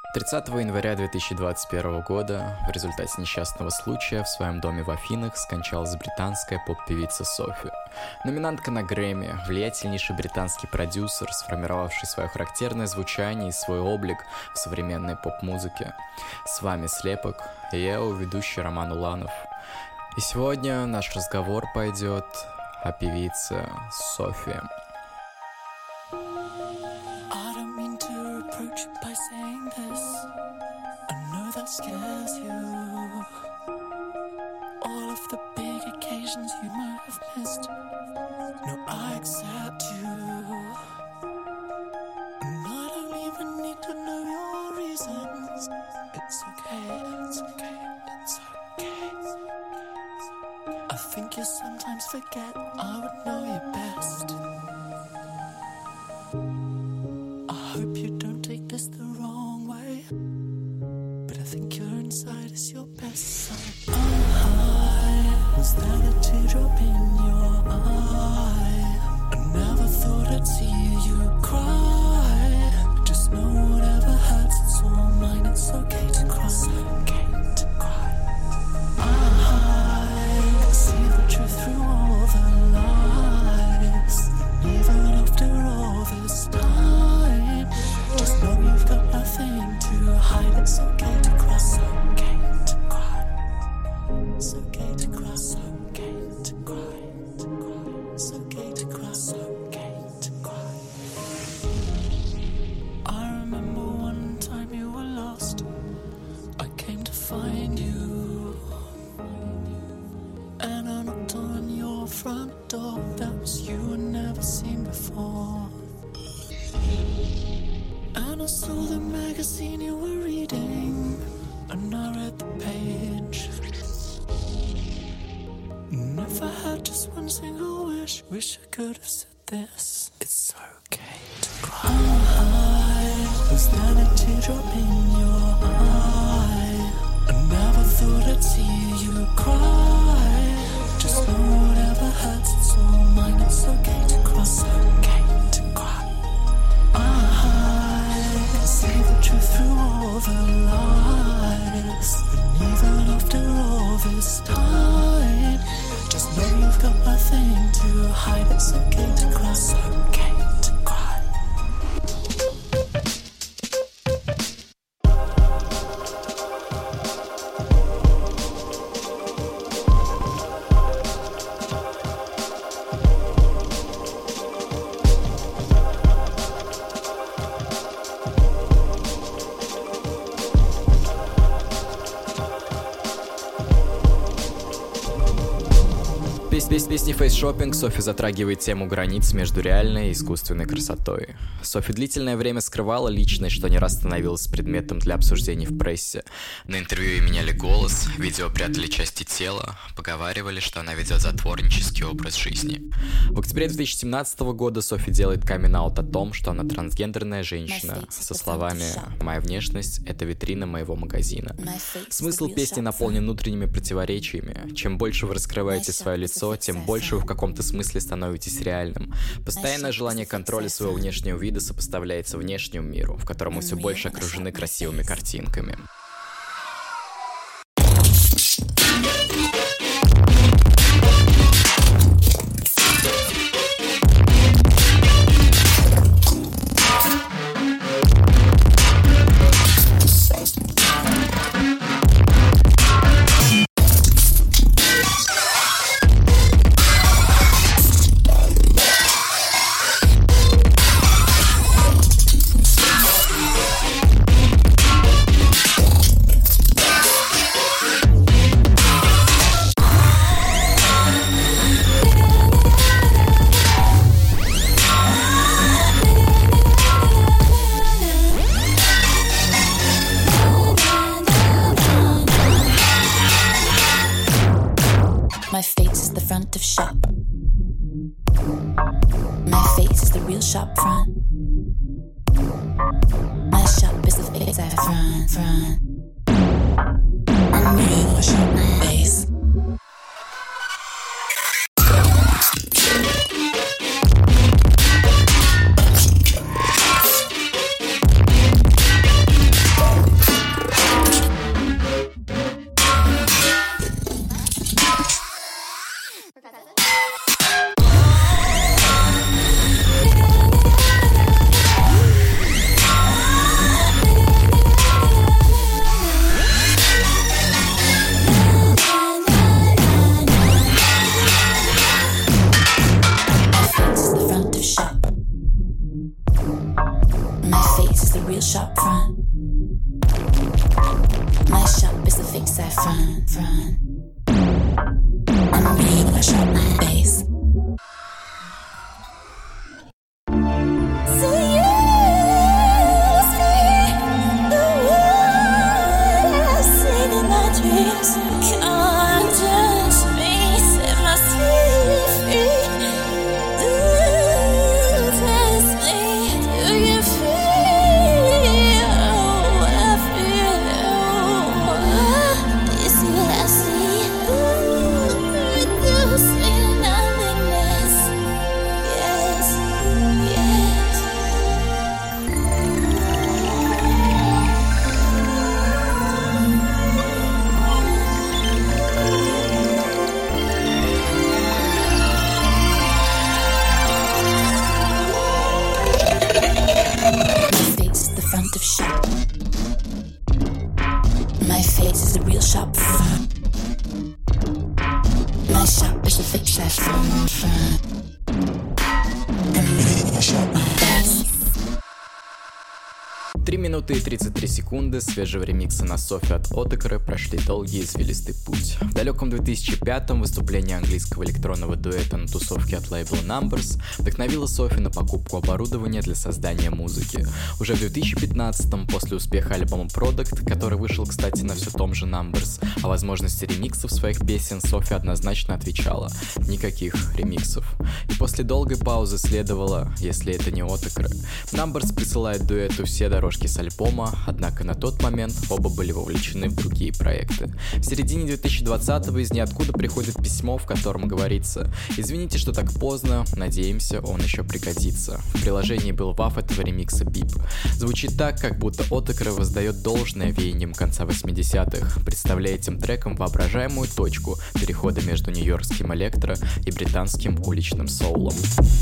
30 января 2021 года в результате несчастного случая в своем доме в Афинах скончалась британская поп-певица Софи. Номинантка на Грэмми, влиятельнейший британский продюсер, сформировавший свое характерное звучание и свой облик в современной поп-музыке. С вами Слепок, и я его ведущий Роман Уланов. И сегодня наш разговор пойдет о певице Софи. Scares you. All of the big occasions you might have missed. No, I accept you. And I don't even need to know your reasons. It's okay, it's okay, it's okay. I think you sometimes forget I would know you best. I hope you don't take this the wrong way. I think your inside is your best side. Was that a teardrop in your eye? I never thought I'd see you cry. Just know whatever hurts, it's all mine. It's okay to cry. It's okay to cry. I see the truth through all the lies. Even after all this time, just know you've got nothing to hide. It's okay to cry. It's okay to cry. It's okay to cry. It's okay to cry. It's okay to cry. It's okay to cry. I remember one time you were lost. I came to find you, and I knocked on your front door. That was you I'd never seen before. And I saw the magazine you were reading, and I read the page. And if I had just one single wish I could have said this. It's okay to cry. Was that a teardrop in your eye? I never thought I'd see you cry. Just know whatever hurts, it's all mine. It's okay to cry. It's okay to cry. I see the truth through all the lies. And even after all this time, just know you've got nothing to hide. It's okay to cry. It's okay to cry. Без песни «Фейс-шоппинг» Софи затрагивает тему границ между реальной и искусственной красотой. Софи длительное время скрывала личность, что не раз становилось предметом для обсуждений в прессе. На интервью ей меняли голос, видео прятали части тела, поговаривали, что она ведет затворнический образ жизни. В октябре 2017 года Софи делает камин-аут о том, что она трансгендерная женщина, со словами «Моя внешность — это витрина моего магазина». Смысл песни наполнен внутренними противоречиями. Чем больше вы раскрываете свое лицо, тем больше вы в каком-то смысле становитесь реальным. Постоянное желание контроля своего внешнего вида сопоставляется внешнему миру, в котором мы все больше окружены красивыми картинками. My face is the front of shop. My face is the real shop front. My shop is the face at front. I'm real shop face. is the real shop front. My shop is the fake saffron. I'm ready to shop my bass. My face is the real shop front. My shop is the fake saffron. I'm ready to shop my bass. 3 минуты и 33 секунды свежего ремикса на Софи от Отекры прошли долгий извилистый путь. В далеком 2005-м выступление английского электронного дуэта на тусовке от лейбла Numbers вдохновило Софи на покупку оборудования для создания музыки. Уже в 2015-м, после успеха альбома Product, который вышел, кстати, на все том же Numbers, о возможности ремиксов своих песен Софи однозначно отвечала: никаких ремиксов. И после долгой паузы следовало, если это не Отекры. Numbers присылает дуэту все дорожки с альбома, однако на тот момент оба были вовлечены в другие проекты. В середине 2020-го из ниоткуда приходит письмо, в котором говорится: «Извините, что так поздно, надеемся, он еще пригодится». В приложении был ваф этого ремикса бип. Звучит так, как будто Отекры воздает должное веяниям конца 80-х, представляя этим треком воображаемую точку перехода между нью-йоркским электро и британским уличным соулом.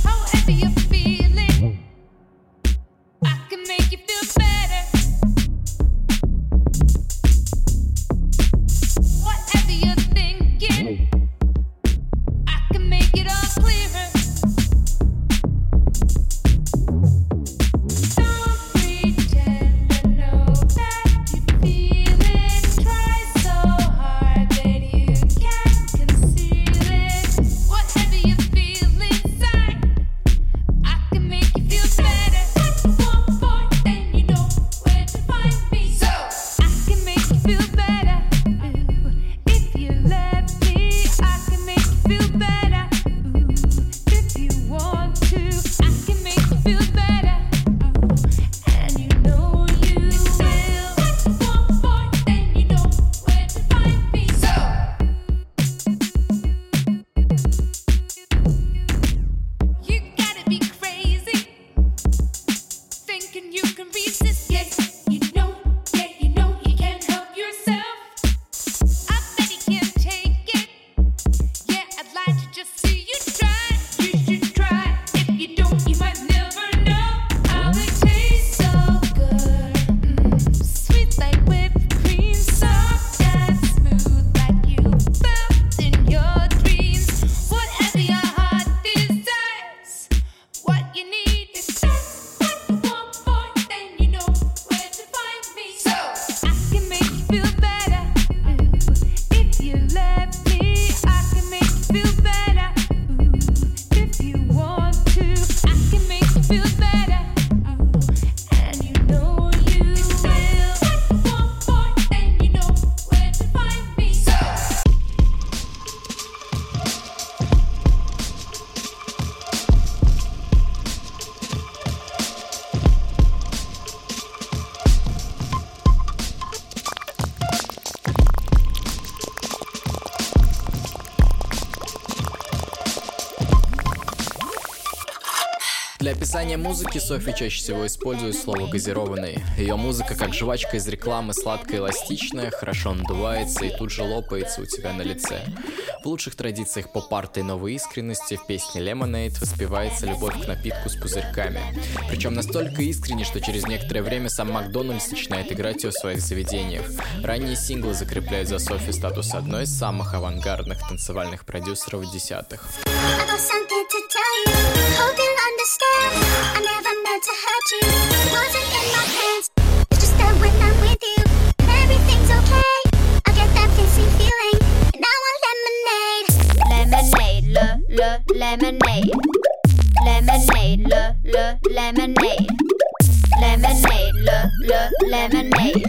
Для описания музыки Софи чаще всего использует слово «газированный». Ее музыка, как жвачка из рекламы, сладкая и эластичная, хорошо надувается и тут же лопается у тебя на лице. В лучших традициях поп-арта и новой искренности в песне Lemonade воспевается любовь к напитку с пузырьками. Причем настолько искренне, что через некоторое время сам Макдональдс начинает играть ее в своих заведениях. Ранние синглы закрепляют за Софи статус одной из самых авангардных танцевальных продюсеров десятых. I never meant to hurt you. Wasn't in my head. lemonade.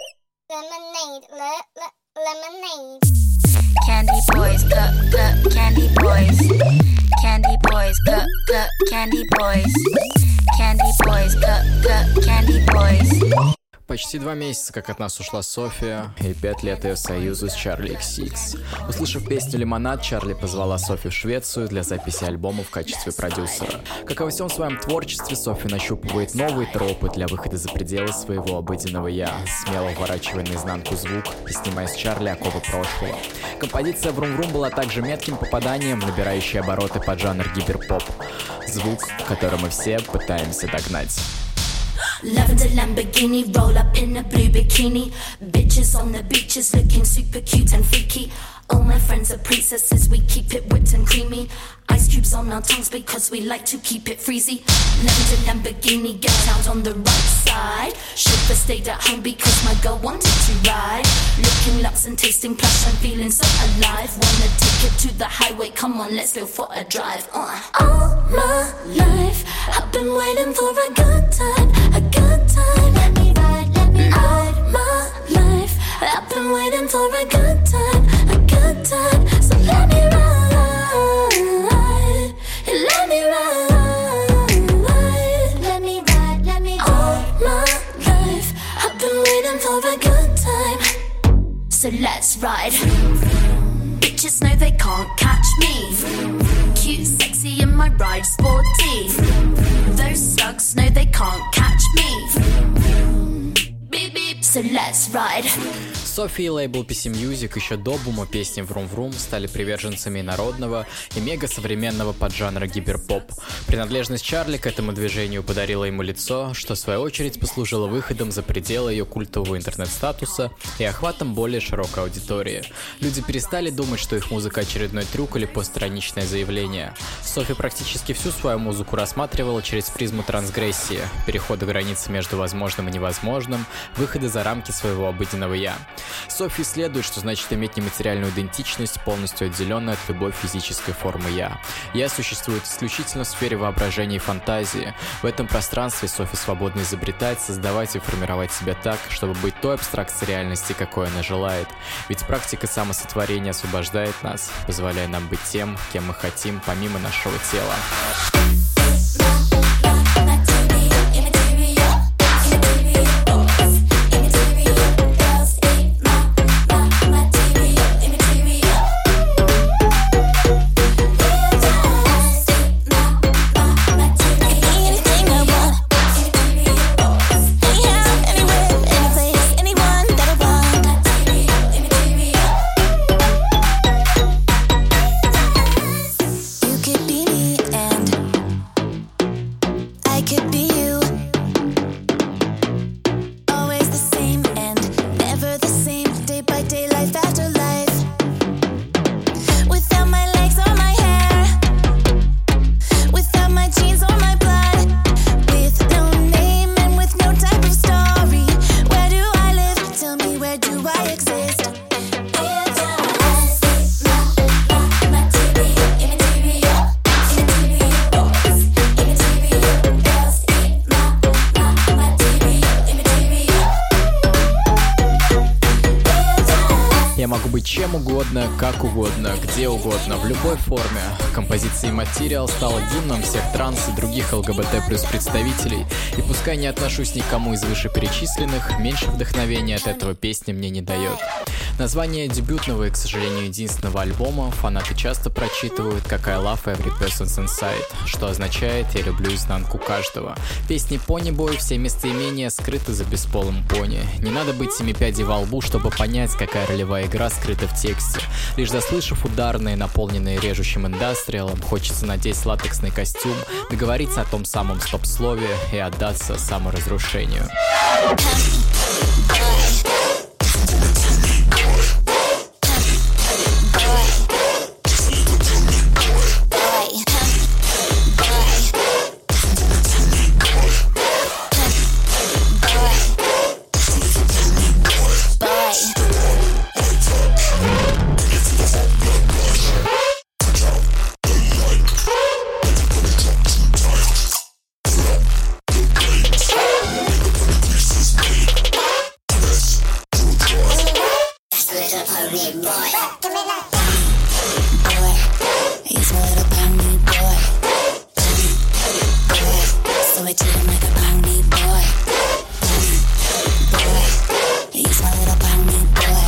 Lemonade. Candy boys, cup, candy boys. Candy boys, cup, candy boys. Candy boys, cup, candy boys. Почти 2 месяца, как от нас ушла София, и 5 лет ее союзу с Charli XX. Услышав песню «Лимонад», Чарли позвала Софи в Швецию для записи альбома в качестве продюсера. Как и во всем своем творчестве, Софи нащупывает новые тропы для выхода за пределы своего обыденного «я», смело уворачивая наизнанку звук и снимая с Чарли оковы прошлого. Композиция «Vroom-vroom» была также метким попаданием, набирающей обороты под жанр гиперпоп. Звук, который мы все пытаемся догнать. Lavender Lamborghini, roll up in a blue bikini. Bitches on the beaches looking super cute and freaky. All my friends are princesses, we keep it whipped and creamy. Ice cubes on our tongues because we like to keep it freezy. Lavender Lamborghini, get out on the right side. Chauffeur stayed at home because my girl wanted to ride. Looking luxe and tasting plush, I'm feeling so alive. Wanna take it to the highway, come on, let's go for a drive. All my life, I've been waiting for a good time, a good time. Let me ride, let me ride. All my life, I've been waiting for a good time, a good time. So let me ride, let me ride, let me ride, let me ride. All my life, I've been waiting for a good time. So let's ride. Bitches know they can't catch me. Cute, sexy, in my ride, sporty. Those slugs know they can't catch me. Beep, beep. So let's ride. Софи и лейбл PC Music еще до бума песни «Vroom-vroom» стали приверженцами народного и мега-современного поджанра гиперпоп. Принадлежность Чарли к этому движению подарила ему лицо, что в свою очередь послужило выходом за пределы ее культового интернет-статуса и охватом более широкой аудитории. Люди перестали думать, что их музыка очередной трюк или постраничное заявление. Софи практически всю свою музыку рассматривала через призму трансгрессии, перехода границы между возможным и невозможным, выхода за рамки своего обыденного «я». Софи исследует, что значит иметь нематериальную идентичность, полностью отделенную от любой физической формы «я». «Я» существует исключительно в сфере воображения и фантазии. В этом пространстве Софи свободно изобретать, создавать и формировать себя так, чтобы быть той абстракцией реальности, какой она желает. Ведь практика самосотворения освобождает нас, позволяя нам быть тем, кем мы хотим, помимо нашего тела. Чем угодно, как угодно, где угодно, в любой форме. Композиция «Immaterial» стала гимном всех транс и других ЛГБТ плюс представителей. И пускай не отношусь никому из вышеперечисленных, меньше вдохновения от этого песня мне не дает. Название дебютного и, к сожалению, единственного альбома фанаты часто прочитывают как «I love every person's inside», что означает «Я люблю изнанку каждого». Песни «Пони-бой» все местоимения скрыты за бесполым пони. Не надо быть семипядей во лбу, чтобы понять, какая ролевая игра скрыта в тексте. Лишь заслышав ударные, наполненные режущим индастриалом, хочется надеть латексный костюм, договориться о том самом стоп-слове и отдаться саморазрушению. big boy. Give me that boy. He's my little poundy boy. So I treat him like a poundy boy. He's my little poundy boy.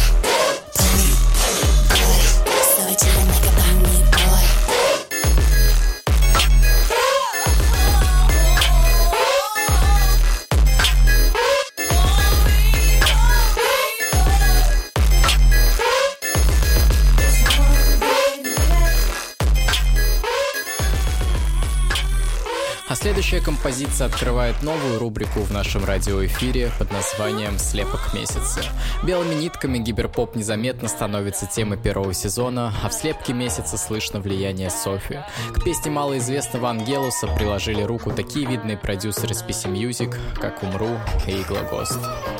So I treat him like a poundy boy. А следующая композиция открывает новую рубрику в нашем радиоэфире под названием «Слепок месяца». Белыми нитками гиперпоп незаметно становится темой первого сезона, а в слепке месяца слышно влияние Софи. К песне малоизвестного Ангелуса приложили руку такие видные продюсеры с PC Music, как Умру и Игла Гост.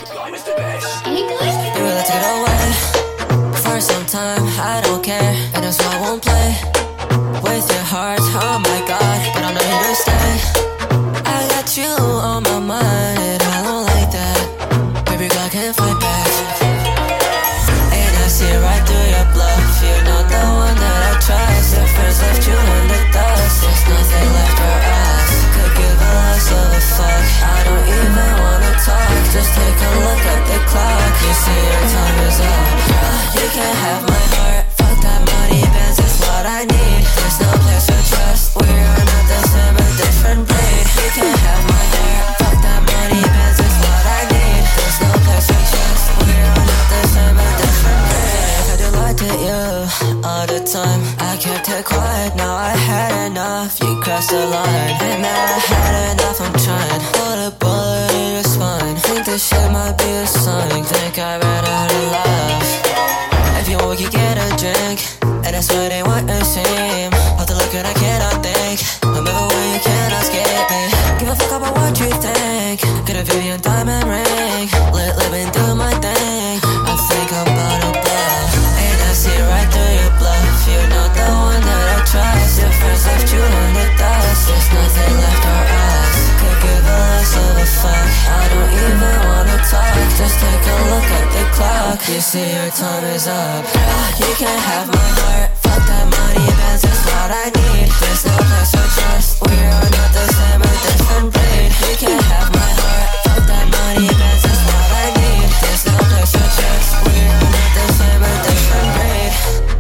With your heart, oh my god, but I'm not here to stay. I got you on my mind, and I don't like that. Baby girl, I can't fight back. And I see right through your bluff. You're not the one that I trust. Your friends left you in the dust. There's nothing left for us. Could give a less of a fuck. I don't even wanna talk. Just take a look at the clock. You see your time is up. You can't have my heart. Fuck that money, Benz is what I need. There's no place for trust. We're not the same, a different breed. You can't have my hair. Fuck that money, Benz is what I need. There's no place for trust. We're not the same, a different breed. I do lie to you all the time. I kept it quiet, now I had enough. You crossed the line, and now I had enough. I'm trying. Put a bullet in your spine. Think this shit might be a sign. Think I ran out of love. If you want, we could get a drink. And that's what they want to seem. All the look and I cannot think. I'm everywhere, you cannot escape me. Give a fuck about what you think. Get a Vivian diamond ring. Living through my thing. I think I'm about to blow. And I see right through your bluff. You're not the one that I trust. Your friends left you in the dust. There's nothing left for us. Could give a less of a fuck. I don't even wanna talk. Just take a look at the clock. You see your time is up. You can't have my heart. Fuck that money, Benz is what I need. There's no place for trust. We're not the same, a different breed. You can't have my heart. Fuck that money, Benz is what I need. There's no place for trust. We're not the same, a different breed.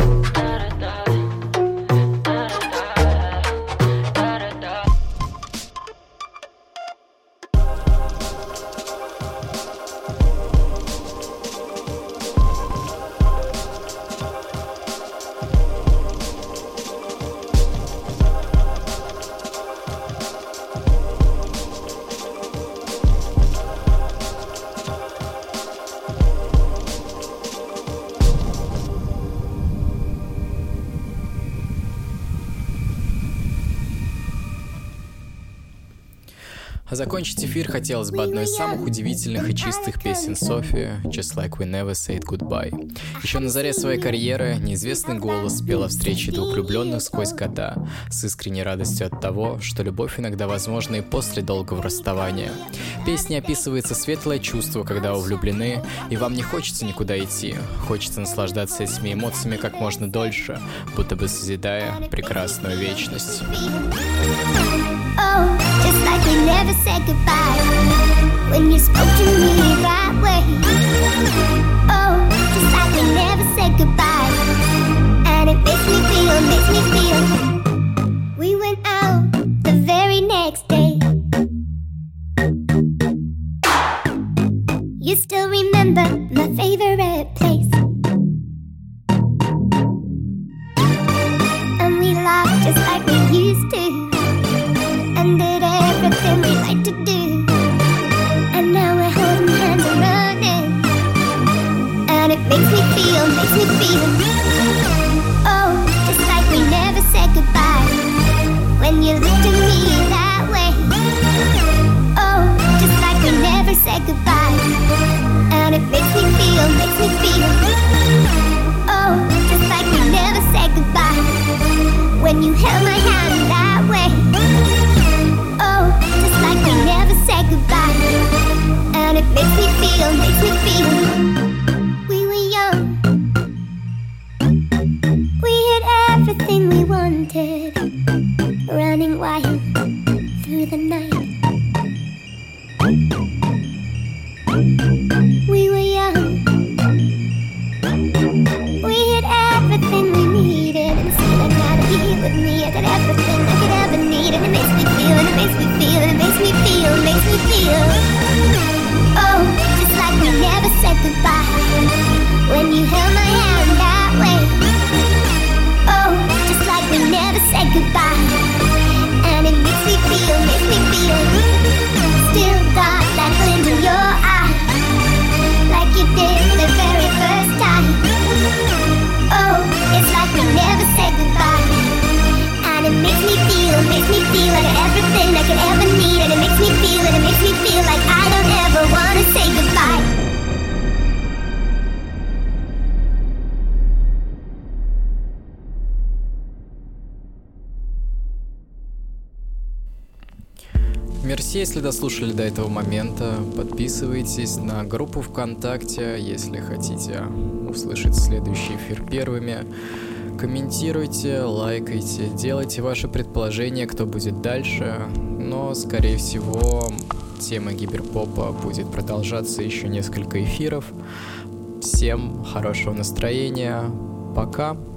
А закончить эфир хотелось бы одной из самых удивительных и чистых песен Софи, Just Like We Never Said Goodbye. Еще на заре своей карьеры неизвестный голос пел о встрече двух влюбленных сквозь года, с искренней радостью от того, что любовь иногда возможна и после долгого расставания. В песне описывается светлое чувство, когда вы влюблены, и вам не хочется никуда идти, хочется наслаждаться этими эмоциями как можно дольше, будто бы созидая прекрасную вечность. Oh, just like we never said goodbye when you spoke to me that way. Oh, just like we never said goodbye, and it makes me feel. We went out the very next day. You still remember my favorite place, and we laughed just like we used to. And did everything we like to do. And now we're holding hands and running. And it makes me feel. Oh, just like we never said goodbye when you looked at me that way. Oh, just like we never said goodbye. And it makes me feel. Мерси, если дослушали до этого момента. Подписывайтесь на группу ВКонтакте, если хотите услышать следующий эфир первыми. Комментируйте, лайкайте, делайте ваши предположения, кто будет дальше. Но, скорее всего, тема гиперпопа будет продолжаться еще несколько эфиров. Всем хорошего настроения. Пока.